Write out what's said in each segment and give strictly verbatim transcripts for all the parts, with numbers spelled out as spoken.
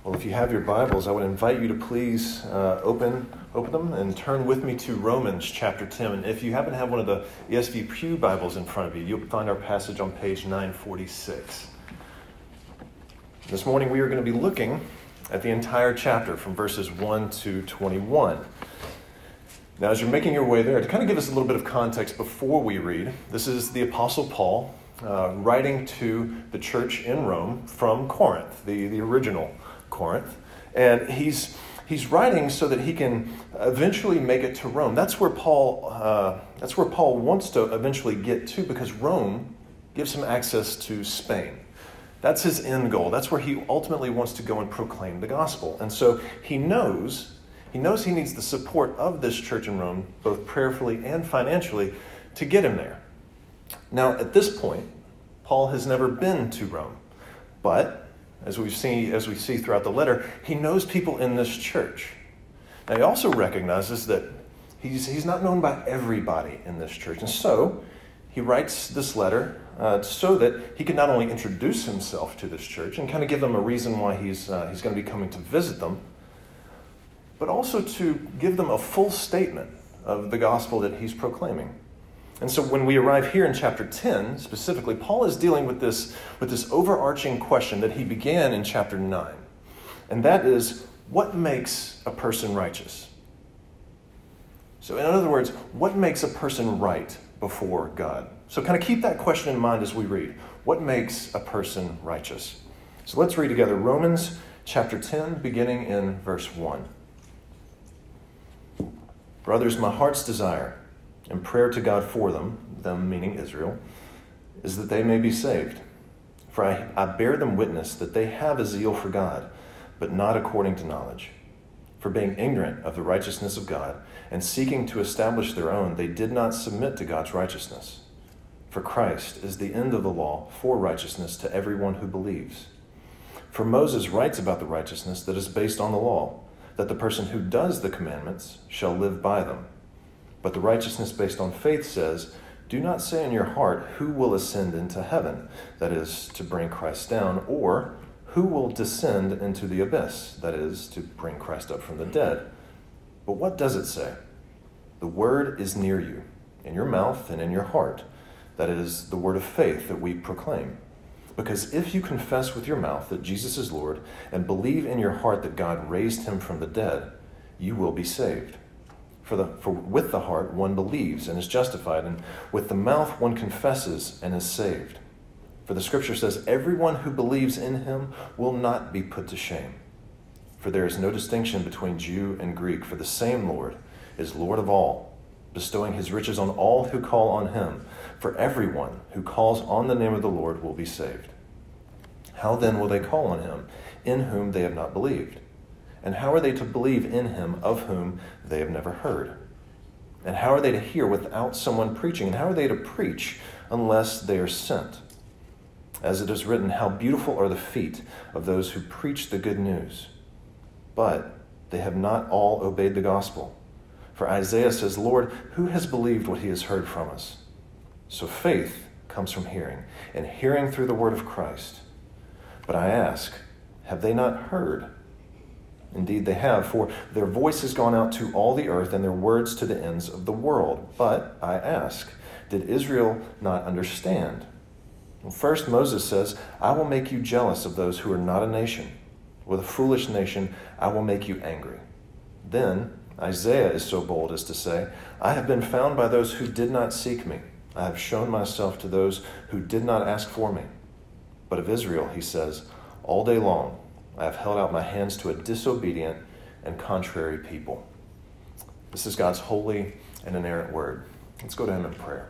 Well, if you have your Bibles, I would invite you to please uh, open open them and turn with me to Romans chapter ten. And if you happen to have one of the E S V Pew Bibles in front of you, you'll find our passage on page nine forty-six. This morning we are going to be looking at the entire chapter from verses one to twenty-one. Now, as you're making your way there, to kind of give us a little bit of context before we read, this is the Apostle Paul uh, writing to the church in Rome from Corinth, the, the original Corinth. And he's he's writing so that he can eventually make it to Rome. That's where Paul uh, that's where Paul wants to eventually get to, because Rome gives him access to Spain. That's his end goal. That's where he ultimately wants to go and proclaim the gospel. And so he knows he knows he needs the support of this church in Rome, both prayerfully and financially, to get him there. Now, at this point, Paul has never been to Rome, but As we see, as we see throughout the letter, he knows people in this church. Now, he also recognizes that he's he's not known by everybody in this church. And so he writes this letter uh, so that he can not only introduce himself to this church and kind of give them a reason why he's uh, he's going to be coming to visit them, but also to give them a full statement of the gospel that he's proclaiming. And so when we arrive here in chapter ten, specifically, Paul is dealing with this, with this overarching question that he began in chapter nine. And that is, what makes a person righteous? So in other words, what makes a person right before God? So kind of keep that question in mind as we read. What makes a person righteous? So let's read together Romans chapter ten, beginning in verse one. Brothers, my heart's desire and prayer to God for them, them meaning Israel, is that they may be saved. For I, I bear them witness that they have a zeal for God, but not according to knowledge. For being ignorant of the righteousness of God and seeking to establish their own, they did not submit to God's righteousness. For Christ is the end of the law for righteousness to everyone who believes. For Moses writes about the righteousness that is based on the law, that the person who does the commandments shall live by them. But the righteousness based on faith says, do not say in your heart, who will ascend into heaven, that is, to bring Christ down, or who will descend into the abyss, that is, to bring Christ up from the dead. But what does it say? The word is near you, in your mouth and in your heart, that is, the word of faith that we proclaim. Because if you confess with your mouth that Jesus is Lord, and believe in your heart that God raised him from the dead, you will be saved. For, the, for with the heart one believes and is justified, and with the mouth one confesses and is saved. For the scripture says, everyone who believes in him will not be put to shame. For there is no distinction between Jew and Greek, for the same Lord is Lord of all, bestowing his riches on all who call on him. For everyone who calls on the name of the Lord will be saved. How then will they call on him, in whom they have not believed? And how are they to believe in him of whom they have never heard? And how are they to hear without someone preaching? And how are they to preach unless they are sent? As it is written, how beautiful are the feet of those who preach the good news. But they have not all obeyed the gospel. For Isaiah says, Lord, who has believed what he has heard from us? So faith comes from hearing, and hearing through the word of Christ. But I ask, have they not heard? Indeed they have, for their voice has gone out to all the earth, and their words to the ends of the world. But I ask, did Israel not understand? Well, first Moses says, I will make you jealous of those who are not a nation. With a foolish nation, I will make you angry. Then Isaiah is so bold as to say, I have been found by those who did not seek me. I have shown myself to those who did not ask for me. But of Israel, he says, all day long, I have held out my hands to a disobedient and contrary people. This is God's holy and inerrant word. Let's go to him in prayer.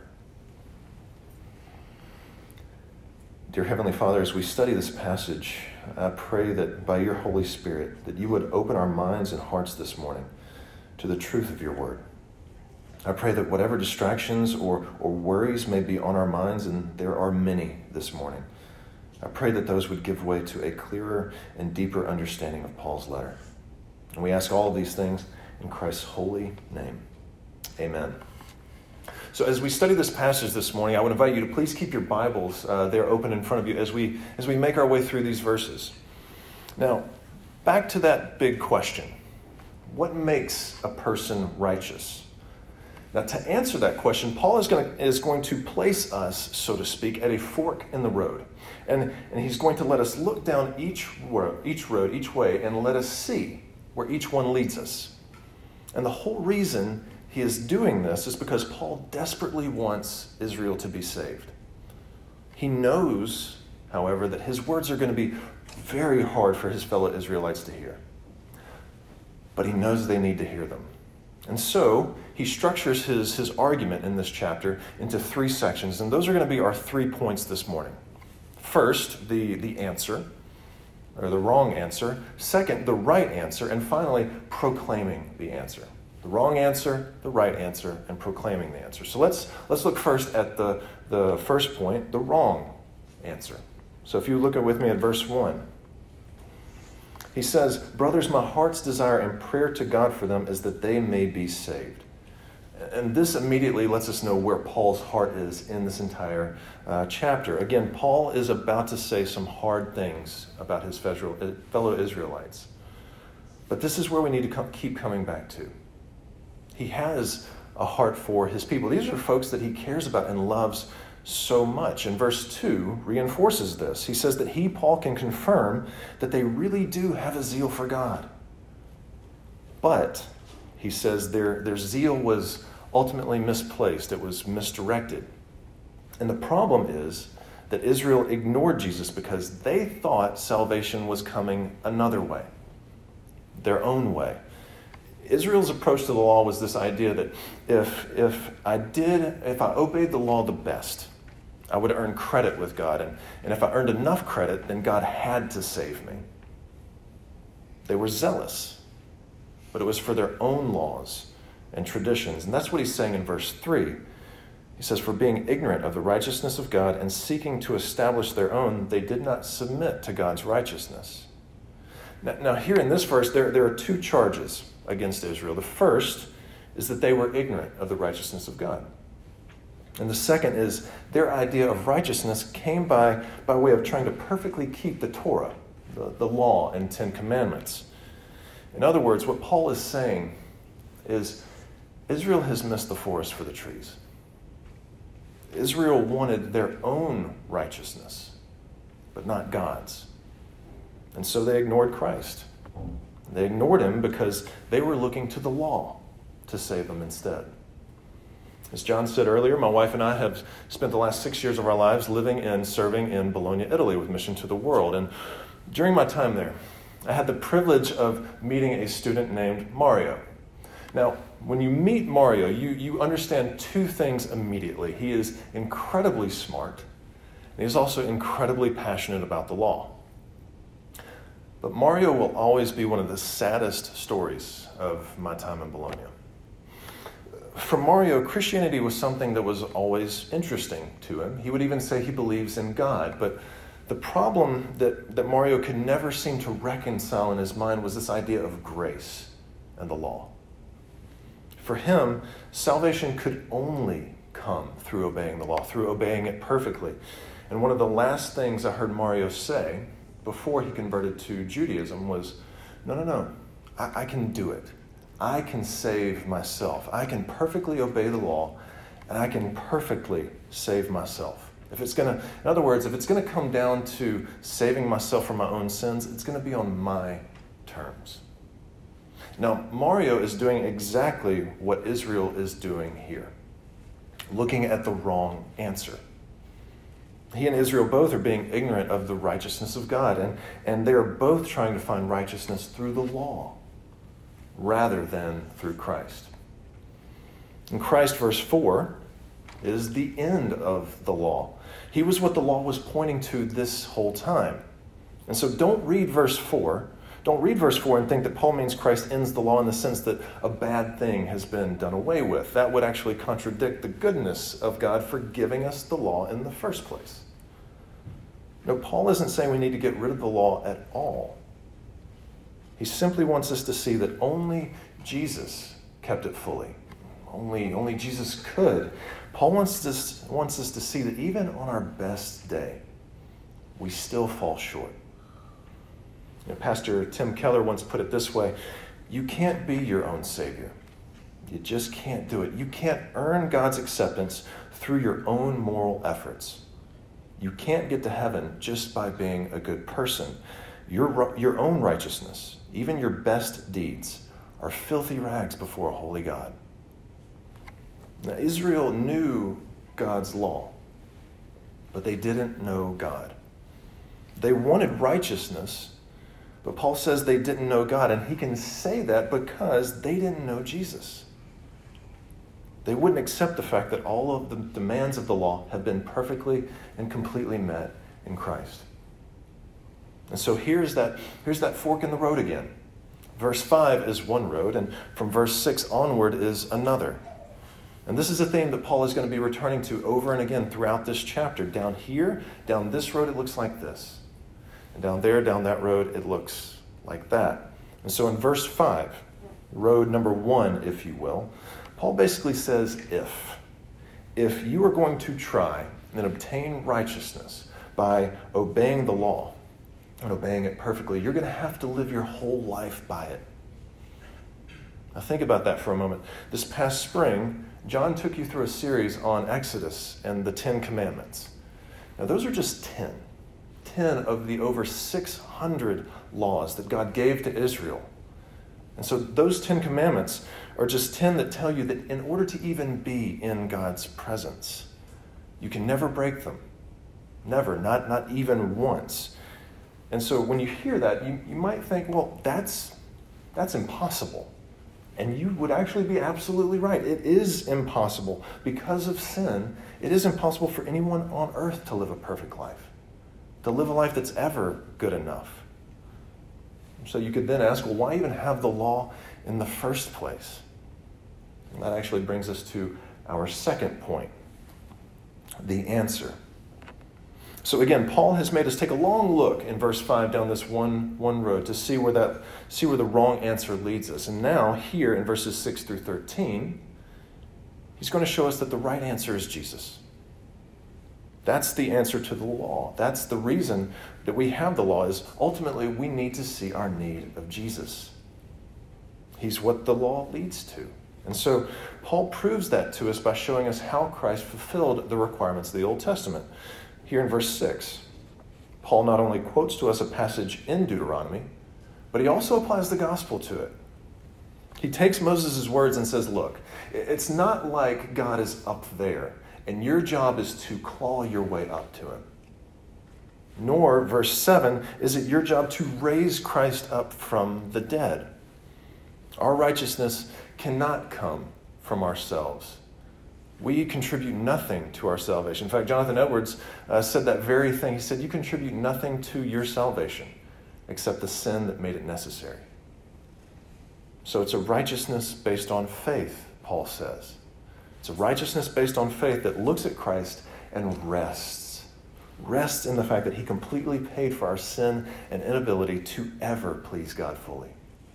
Dear Heavenly Father, as we study this passage, I pray that by your Holy Spirit, that you would open our minds and hearts this morning to the truth of your word. I pray that whatever distractions or, or worries may be on our minds, and there are many this morning, I pray that those would give way to a clearer and deeper understanding of Paul's letter. And we ask all of these things in Christ's holy name. Amen. So as we study this passage this morning, I would invite you to please keep your Bibles uh, there open in front of you as we as we make our way through these verses. Now, back to that big question. What makes a person righteous? Now, to answer that question, Paul is going to, is going to place us, so to speak, at a fork in the road. And, and he's going to let us look down each road, each road, each way, and let us see where each one leads us. And the whole reason he is doing this is because Paul desperately wants Israel to be saved. He knows, however, that his words are going to be very hard for his fellow Israelites to hear. But he knows they need to hear them. And so he structures his, his argument in this chapter into three sections, and those are going to be our three points this morning. First, the, the answer, or the wrong answer. Second, the right answer. And finally, proclaiming the answer. The wrong answer, the right answer, and proclaiming the answer. So let's, let's look first at the, the first point, the wrong answer. So if you look at with me at verse one. He says, "Brothers, my heart's desire and prayer to God for them is that they may be saved." And this immediately lets us know where Paul's heart is in this entire uh, chapter. Again, Paul is about to say some hard things about his fellow Israelites. But this is where we need to come, keep coming back to. He has a heart for his people. These are folks that he cares about and loves so much. And verse two reinforces this. He says that he, Paul, can confirm that they really do have a zeal for God. But, he says, their, their zeal was ultimately misplaced. It was misdirected. And the problem is that Israel ignored Jesus because they thought salvation was coming another way, their own way. Israel's approach to the law was this idea that if if I did, if I obeyed the law the best, I would earn credit with God. And, and if I earned enough credit, then God had to save me. They were zealous, but it was for their own laws and traditions. And that's what he's saying in verse three. He says, "For being ignorant of the righteousness of God and seeking to establish their own, they did not submit to God's righteousness." Now, now here in this verse, there, there are two charges against Israel. The first is that they were ignorant of the righteousness of God. And the second is their idea of righteousness came by, by way of trying to perfectly keep the Torah, the, the law and Ten Commandments. In other words, what Paul is saying is Israel has missed the forest for the trees. Israel wanted their own righteousness, but not God's. And so they ignored Christ. They ignored him because they were looking to the law to save them instead. As John said earlier, my wife and I have spent the last six years of our lives living and serving in Bologna, Italy with Mission to the World. And during my time there, I had the privilege of meeting a student named Mario. Now, when you meet Mario, you, you understand two things immediately. He is incredibly smart, and he's also incredibly passionate about the law. But Mario will always be one of the saddest stories of my time in Bologna. For Mario, Christianity was something that was always interesting to him. He would even say he believes in God. But the problem that, that Mario could never seem to reconcile in his mind was this idea of grace and the law. For him, salvation could only come through obeying the law, through obeying it perfectly. And one of the last things I heard Mario say before he converted to Judaism was, no, no, no, I, I can do it. I can save myself. I can perfectly obey the law, and I can perfectly save myself. If it's going to, in other words, if it's going to come down to saving myself from my own sins, it's going to be on my terms. Now, Mario is doing exactly what Israel is doing here, looking at the wrong answer. He and Israel both are being ignorant of the righteousness of God, and, and they are both trying to find righteousness through the law rather than through Christ. And Christ, verse four, is the end of the law. He was what the law was pointing to this whole time. And so don't read verse four. Don't read verse four and think that Paul means Christ ends the law in the sense that a bad thing has been done away with. That would actually contradict the goodness of God for giving us the law in the first place. No, Paul isn't saying we need to get rid of the law at all. He simply wants us to see that only Jesus kept it fully. Only, only Jesus could. Paul wants us, wants us to see that even on our best day, we still fall short. You know, Pastor Tim Keller once put it this way: you can't be your own Savior. You just can't do it. You can't earn God's acceptance through your own moral efforts. You can't get to heaven just by being a good person. Your, your own righteousness, even your best deeds, are filthy rags before a holy God. Now, Israel knew God's law, but they didn't know God. They wanted righteousness, but Paul says they didn't know God, and he can say that because they didn't know Jesus. They wouldn't accept the fact that all of the demands of the law have been perfectly and completely met in Christ. And so here's that, here's that fork in the road again. Verse five is one road, and from verse six onward is another. And this is a theme that Paul is going to be returning to over and again throughout this chapter. Down here, down this road, it looks like this. And down there, down that road, it looks like that. And so in verse five, road number one, if you will, Paul basically says, if. If you are going to try and obtain righteousness by obeying the law and obeying it perfectly, you're going to have to live your whole life by it. Now think about that for a moment. This past spring, John took you through a series on Exodus and the Ten Commandments. Now those are just ten. Ten of the over six hundred laws that God gave to Israel. And so those Ten Commandments are just ten that tell you that in order to even be in God's presence, you can never break them. Never, not, not even once. And so when you hear that, you, you might think, well, that's, that's impossible. And you would actually be absolutely right. It is impossible. Because of sin, it is impossible for anyone on earth to live a perfect life, to live a life that's ever good enough. So you could then ask, well, why even have the law in the first place? And that actually brings us to our second point, the answer. So again, Paul has made us take a long look in verse five down this one, one road to see where that see where the wrong answer leads us. And now here in verses six through thirteen, he's going to show us that the right answer is Jesus. That's the answer to the law. That's the reason that we have the law, is ultimately we need to see our need of Jesus. He's what the law leads to. And so Paul proves that to us by showing us how Christ fulfilled the requirements of the Old Testament. Here in verse six, Paul not only quotes to us a passage in Deuteronomy, but he also applies the gospel to it. He takes Moses' words and says, look, it's not like God is up there, and your job is to claw your way up to him. Nor, verse seven, is it your job to raise Christ up from the dead. Our righteousness cannot come from ourselves. We contribute nothing to our salvation. In fact, Jonathan Edwards uh, said that very thing. He said, you contribute nothing to your salvation except the sin that made it necessary. So it's a righteousness based on faith, Paul says. It's a righteousness based on faith that looks at Christ and rests. Rests in the fact that he completely paid for our sin and inability to ever please God fully.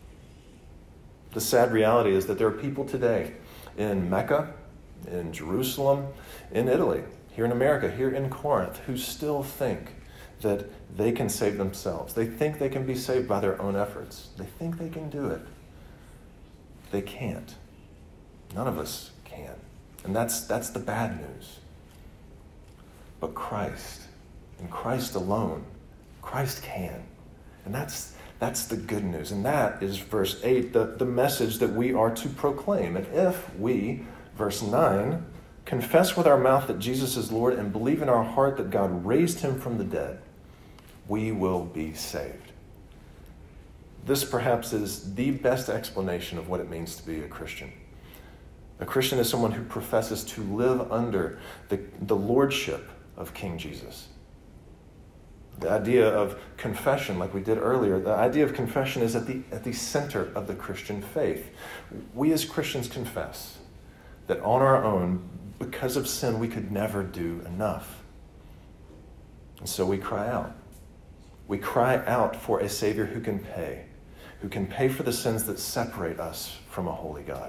The sad reality is that there are people today in Mecca, in Jerusalem, in Italy, here in America, here in Corinth, who still think that they can save themselves. They think they can be saved by their own efforts. They think they can do it. They can't. None of us can. And that's, that's the bad news. But Christ, and Christ alone, Christ can. And that's That's the good news. And that is verse eight, the, the message that we are to proclaim. And if we, verse nine, confess with our mouth that Jesus is Lord and believe in our heart that God raised him from the dead, we will be saved. This perhaps is the best explanation of what it means to be a Christian. A Christian is someone who professes to live under the, the lordship of King Jesus. The idea of confession, like we did earlier, the idea of confession is at the, at the center of the Christian faith. We as Christians confess that on our own, because of sin, we could never do enough. And so we cry out. We cry out for a Savior who can pay, who can pay for the sins that separate us from a holy God.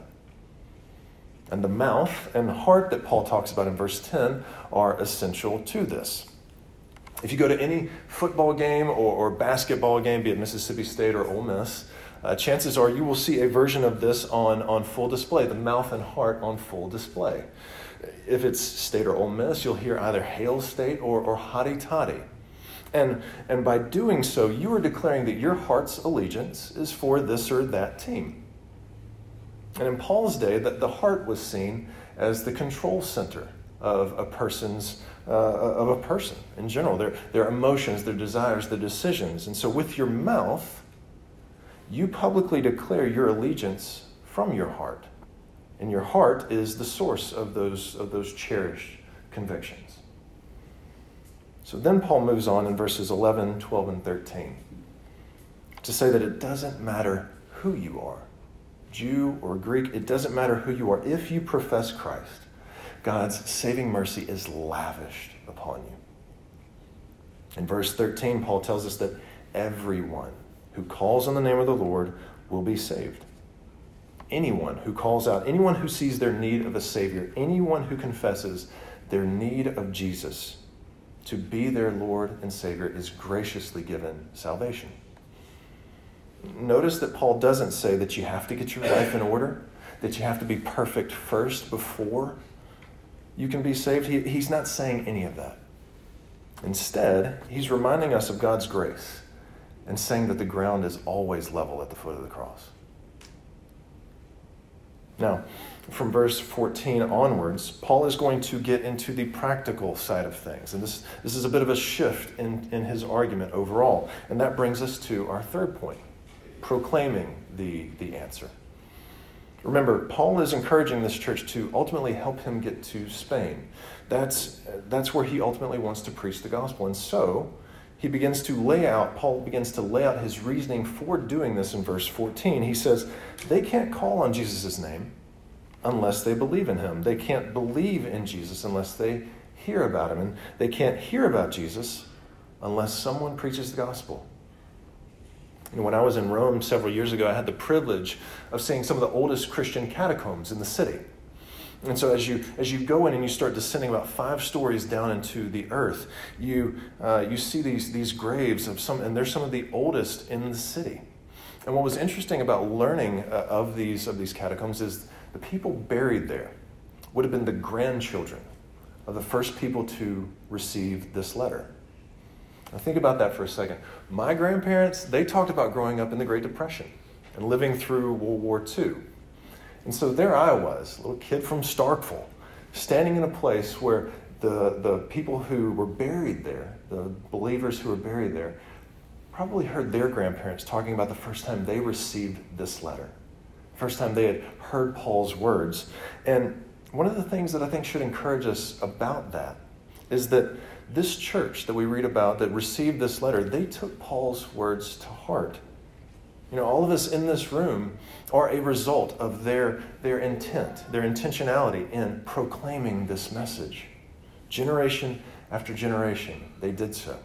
And the mouth and heart that Paul talks about in verse ten are essential to this. If you go to any football game or, or basketball game, be it Mississippi State or Ole Miss, uh, chances are you will see a version of this on, on full display, the mouth and heart on full display. If it's State or Ole Miss, you'll hear either Hail State or, or Hotty Toddy. And, and by doing so, you are declaring that your heart's allegiance is for this or that team. And in Paul's day, that the heart was seen as the control center of a person's uh, of a person in general, their their emotions, their desires, their decisions. And so with your mouth, you publicly declare your allegiance from your heart. And your heart is the source of those of those cherished convictions. So then Paul moves on in verses eleven, twelve, and thirteen to say that it doesn't matter who you are, Jew or Greek, it doesn't matter who you are. If you profess Christ, God's saving mercy is lavished upon you. In verse thirteen, Paul tells us that everyone who calls on the name of the Lord will be saved. Anyone who calls out, anyone who sees their need of a Savior, anyone who confesses their need of Jesus to be their Lord and Savior is graciously given salvation. Notice that Paul doesn't say that you have to get your life in order, that you have to be perfect first before you can be saved. He, he's not saying any of that. Instead, he's reminding us of God's grace and saying that the ground is always level at the foot of the cross. Now, from verse fourteen onwards, Paul is going to get into the practical side of things. And this, this is a bit of a shift in, in his argument overall. And that brings us to our third point, proclaiming the, the answer. Remember, Paul is encouraging this church to ultimately help him get to Spain. That's, that's where he ultimately wants to preach the gospel. And so he begins to lay out, Paul begins to lay out his reasoning for doing this in verse fourteen. He says, they can't call on Jesus' name unless they believe in him. They can't believe in Jesus unless they hear about him. And they can't hear about Jesus unless someone preaches the gospel. You know, when I was in Rome several years ago, I had the privilege of seeing some of the oldest Christian catacombs in the city. And so as you as you go in and you start descending about five stories down into the earth, you uh, you see these these graves of some, and they're some of the oldest in the city. And what was interesting about learning uh, of these of these catacombs is the people buried there would have been the grandchildren of the first people to receive this letter. Now think about that for a second. My grandparents, they talked about growing up in the Great Depression and living through World War Two. And so there I was, a little kid from Starkville, standing in a place where the, the people who were buried there, the believers who were buried there, probably heard their grandparents talking about the first time they received this letter, first time they had heard Paul's words. And one of the things that I think should encourage us about that is that this church that we read about that received this letter, they took Paul's words to heart. You know, all of us in this room are a result of their, their intent, their intentionality in proclaiming this message. Generation after generation, they did so.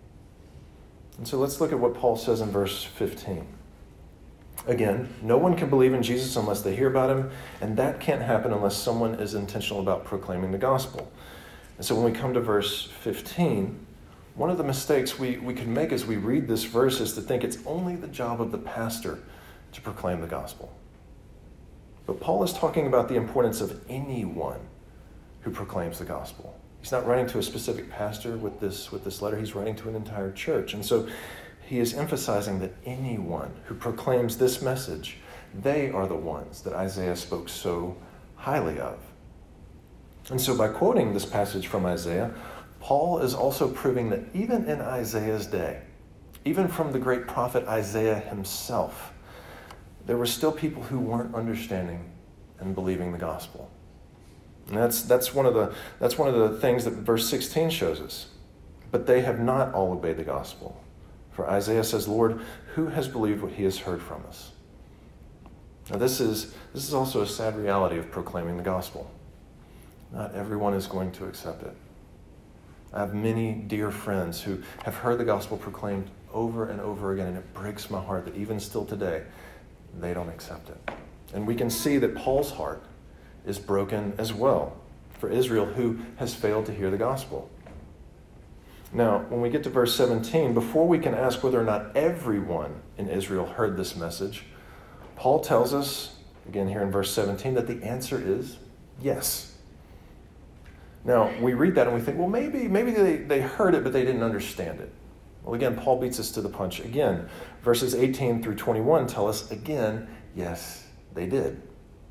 And so let's look at what Paul says in verse fifteen. Again, no one can believe in Jesus unless they hear about him, and that can't happen unless someone is intentional about proclaiming the gospel. And so when we come to verse fifteen, one of the mistakes we, we can make as we read this verse is to think it's only the job of the pastor to proclaim the gospel. But Paul is talking about the importance of anyone who proclaims the gospel. He's not writing to a specific pastor with this, with this letter. He's writing to an entire church. And so he is emphasizing that anyone who proclaims this message, they are the ones that Isaiah spoke so highly of. And so by quoting this passage from Isaiah, Paul is also proving that even in Isaiah's day, even from the great prophet Isaiah himself, there were still people who weren't understanding and believing the gospel. And that's that's one of the that's one of the things that verse sixteen shows us. But they have not all obeyed the gospel. For Isaiah says, Lord, who has believed what he has heard from us? Now this is this is also a sad reality of proclaiming the gospel. Not everyone is going to accept it. I have many dear friends who have heard the gospel proclaimed over and over again, and it breaks my heart that even still today, they don't accept it. And we can see that Paul's heart is broken as well for Israel, who has failed to hear the gospel. Now, when we get to verse seventeen, before we can ask whether or not everyone in Israel heard this message, Paul tells us, again here in verse seventeen, that the answer is yes. Now, we read that and we think, well, maybe, maybe they, they heard it, but they didn't understand it. Well, again, Paul beats us to the punch again. Verses eighteen through twenty-one tell us again, yes, they did.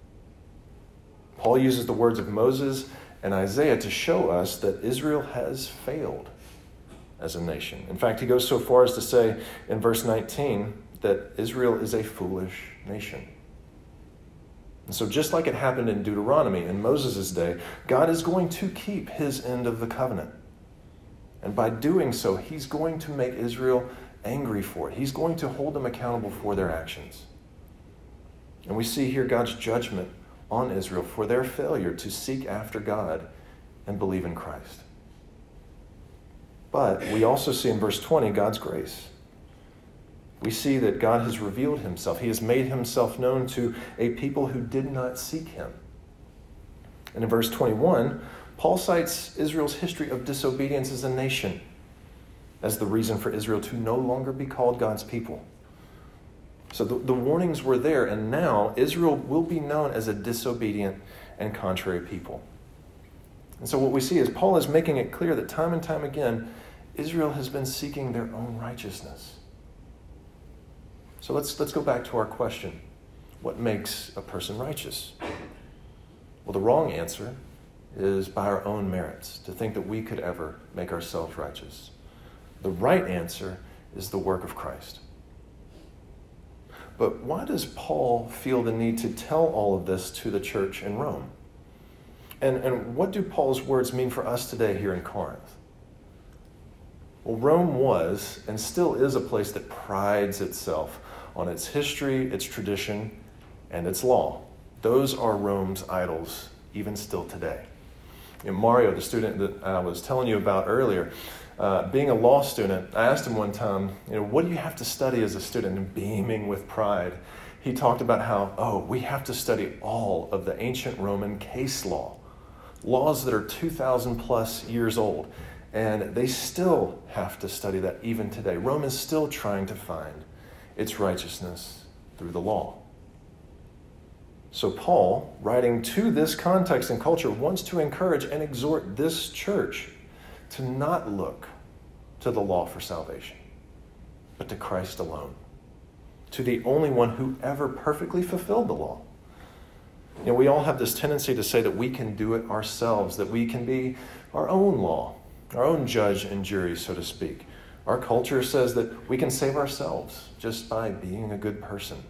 Paul uses the words of Moses and Isaiah to show us that Israel has failed as a nation. In fact, he goes so far as to say in verse nineteen that Israel is a foolish nation. And so just like it happened in Deuteronomy in Moses' day, God is going to keep his end of the covenant. And by doing so, he's going to make Israel angry for it. He's going to hold them accountable for their actions. And we see here God's judgment on Israel for their failure to seek after God and believe in Christ. But we also see in verse twenty God's grace. We see that God has revealed himself. He has made himself known to a people who did not seek him. And in verse twenty-one, Paul cites Israel's history of disobedience as a nation as the reason for Israel to no longer be called God's people. So the, the warnings were there, and now Israel will be known as a disobedient and contrary people. And so what we see is Paul is making it clear that time and time again, Israel has been seeking their own righteousness. So let's let's go back to our question. What makes a person righteous? Well, the wrong answer is by our own merits, to think that we could ever make ourselves righteous. The right answer is the work of Christ. But why does Paul feel the need to tell all of this to the church in Rome? And, and what do Paul's words mean for us today here in Corinth? Well, Rome was and still is a place that prides itself on its history, its tradition, and its law. Those are Rome's idols, even still today. And Mario, the student that I was telling you about earlier, uh, being a law student, I asked him one time, you know, what do you have to study as a student? And beaming with pride, he talked about how, oh, we have to study all of the ancient Roman case law. Laws that are two thousand plus years old, and they still have to study that even today. Rome is still trying to find its righteousness through the law. So Paul, writing to this context and culture, wants to encourage and exhort this church to not look to the law for salvation, but to Christ alone, to the only one who ever perfectly fulfilled the law. You know, we all have this tendency to say that we can do it ourselves, that we can be our own law, our own judge and jury, so to speak. Our culture says that we can save ourselves just by being a good person.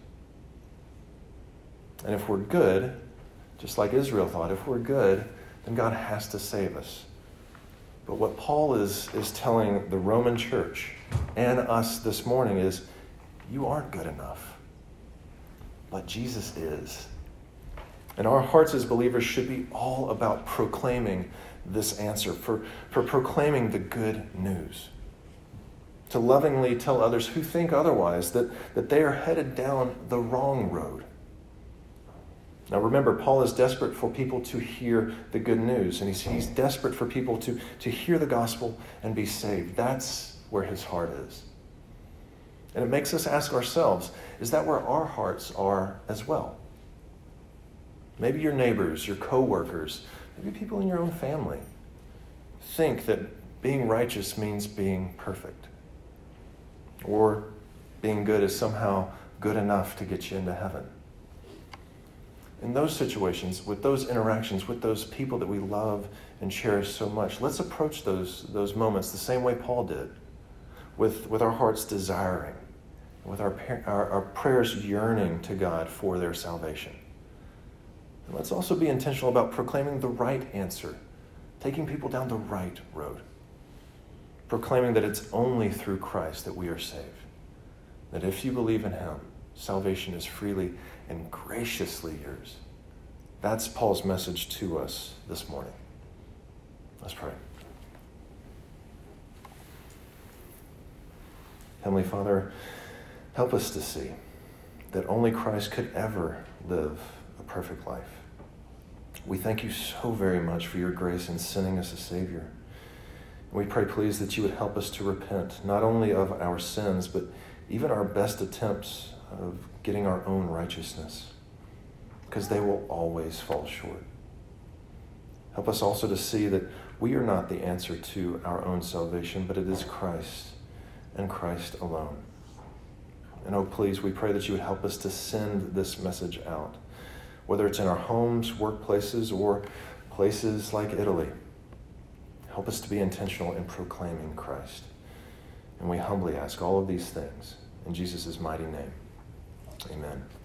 And if we're good, just like Israel thought, if we're good, then God has to save us. But what Paul is, is telling the Roman church and us this morning is, you aren't good enough, but Jesus is. And our hearts as believers should be all about proclaiming this answer, for, for proclaiming the good news. To lovingly tell others who think otherwise that, that they are headed down the wrong road. Now remember, Paul is desperate for people to hear the good news, and he's, he's desperate for people to, to hear the gospel and be saved. That's where his heart is. And it makes us ask ourselves, is that where our hearts are as well? Maybe your neighbors, your co-workers, maybe people in your own family think that being righteous means being perfect, or being good is somehow good enough to get you into heaven. In those situations, with those interactions, with those people that we love and cherish so much, let's approach those, those moments the same way Paul did, with, with our hearts desiring, with our, our, our prayers yearning to God for their salvation. And let's also be intentional about proclaiming the right answer, taking people down the right road, proclaiming that it's only through Christ that we are saved, that if you believe in him, salvation is freely and graciously yours. That's Paul's message to us this morning. Let's pray. Heavenly Father, help us to see that only Christ could ever live a perfect life. We thank you so very much for your grace in sending us a Savior. We pray, please, that you would help us to repent, not only of our sins, but even our best attempts of getting our own righteousness, because they will always fall short. Help us also to see that we are not the answer to our own salvation, but it is Christ and Christ alone. And oh, please, we pray that you would help us to send this message out, whether it's in our homes, workplaces, or places like Italy. Help us to be intentional in proclaiming Christ. And we humbly ask all of these things in Jesus' mighty name. Amen.